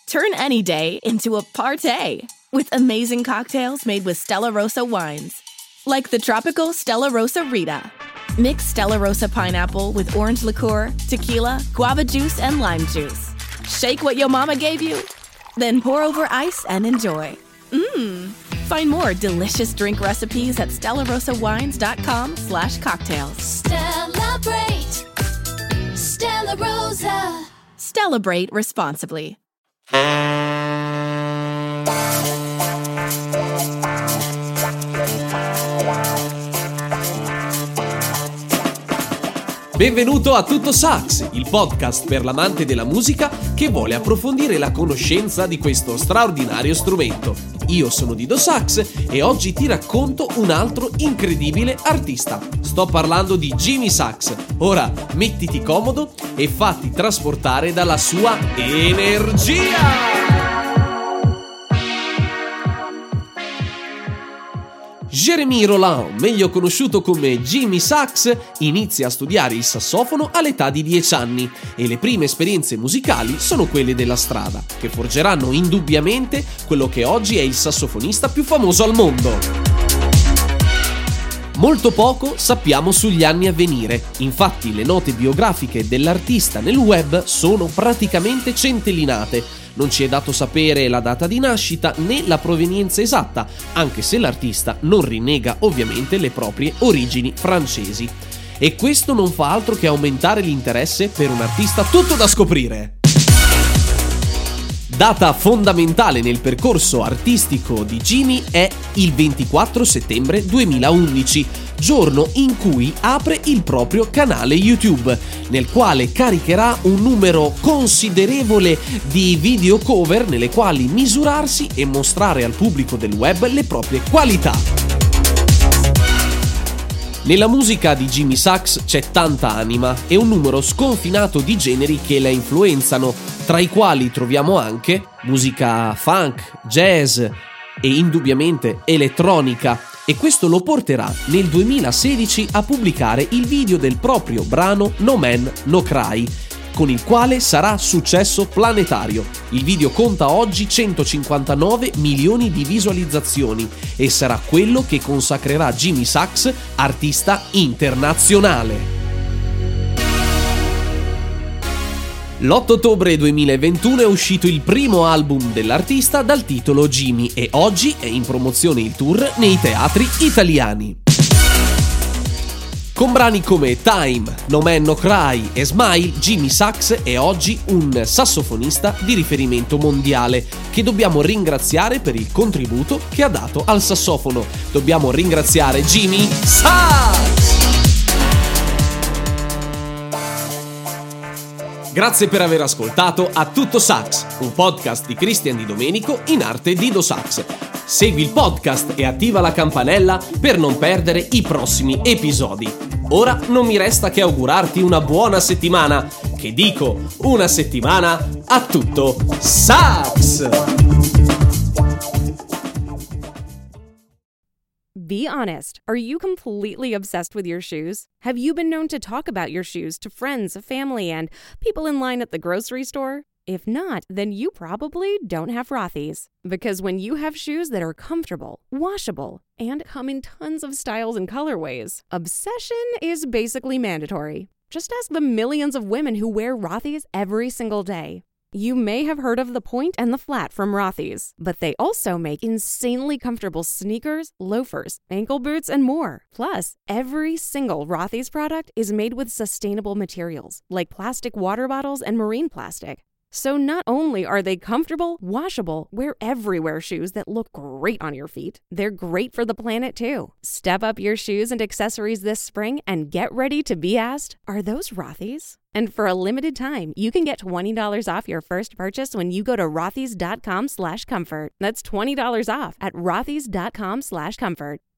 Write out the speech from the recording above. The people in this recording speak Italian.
Turn any day into a party with amazing cocktails made with Stella Rosa wines. Like the tropical Stella Rosa Rita. Mix Stella Rosa pineapple with orange liqueur, tequila, guava juice, and lime juice. Shake what your mama gave you, then pour over ice and enjoy. Find more delicious drink recipes at stellarosawines.com/cocktails. Celebrate Stella Rosa. Celebrate responsibly. Benvenuto a Tutto Sax, il podcast per l'amante della musica che vuole approfondire la conoscenza di questo straordinario strumento. Io sono Dido Sax e oggi ti racconto un altro incredibile artista. Sto parlando di Jimmy Sax. Ora mettiti comodo e fatti trasportare dalla sua energia! Jérémy Roland, meglio conosciuto come Jimmy Sax, inizia a studiare il sassofono all'età di 10 anni e le prime esperienze musicali sono quelle della strada, che forgeranno indubbiamente quello che oggi è il sassofonista più famoso al mondo. Molto poco sappiamo sugli anni a venire, infatti le note biografiche dell'artista nel web sono praticamente centellinate. Non ci è dato sapere la data di nascita né la provenienza esatta, anche se l'artista non rinnega ovviamente le proprie origini francesi. E questo non fa altro che aumentare l'interesse per un artista tutto da scoprire. Data fondamentale nel percorso artistico di Jimmy è il 24 settembre 2011, giorno in cui apre il proprio canale YouTube, nel quale caricherà un numero considerevole di video cover nelle quali misurarsi e mostrare al pubblico del web le proprie qualità. Nella musica di Jimmy Sax c'è tanta anima e un numero sconfinato di generi che la influenzano, tra i quali troviamo anche musica funk, jazz e indubbiamente elettronica, e questo lo porterà nel 2016 a pubblicare il video del proprio brano No Man No Cry, con il quale sarà successo planetario. Il video conta oggi 159 milioni di visualizzazioni e sarà quello che consacrerà Jimmy Sax artista internazionale. L'8 ottobre 2021 è uscito il primo album dell'artista dal titolo Jimmy e oggi è in promozione il tour nei teatri italiani. Con brani come Time, No Man No Cry e Smile, Jimmy Sax è oggi un sassofonista di riferimento mondiale che dobbiamo ringraziare per il contributo che ha dato al sassofono. Dobbiamo ringraziare Jimmy Sax! Grazie per aver ascoltato A Tutto Sax, un podcast di Cristian Di Domenico in arte Dido Sax. Segui il podcast e attiva la campanella per non perdere i prossimi episodi. Ora non mi resta che augurarti una buona settimana, che dico una settimana a tutto sax! Be honest, are you completely obsessed with your shoes? Have you been known to talk about your shoes to friends, family, and people in line at the grocery store? If not, then you probably don't have Rothy's. Because when you have shoes that are comfortable, washable, and come in tons of styles and colorways, obsession is basically mandatory. Just ask the millions of women who wear Rothy's every single day. You may have heard of the Point and the Flat from Rothy's, but they also make insanely comfortable sneakers, loafers, ankle boots, and more. Plus, every single Rothy's product is made with sustainable materials, like plastic water bottles and marine plastic. So not only are they comfortable, washable, wear everywhere shoes that look great on your feet, they're great for the planet too. Step up your shoes and accessories this spring and get ready to be asked, are those Rothy's? And for a limited time, you can get $20 off your first purchase when you go to rothys.com/comfort. That's $20 off at rothys.com/comfort.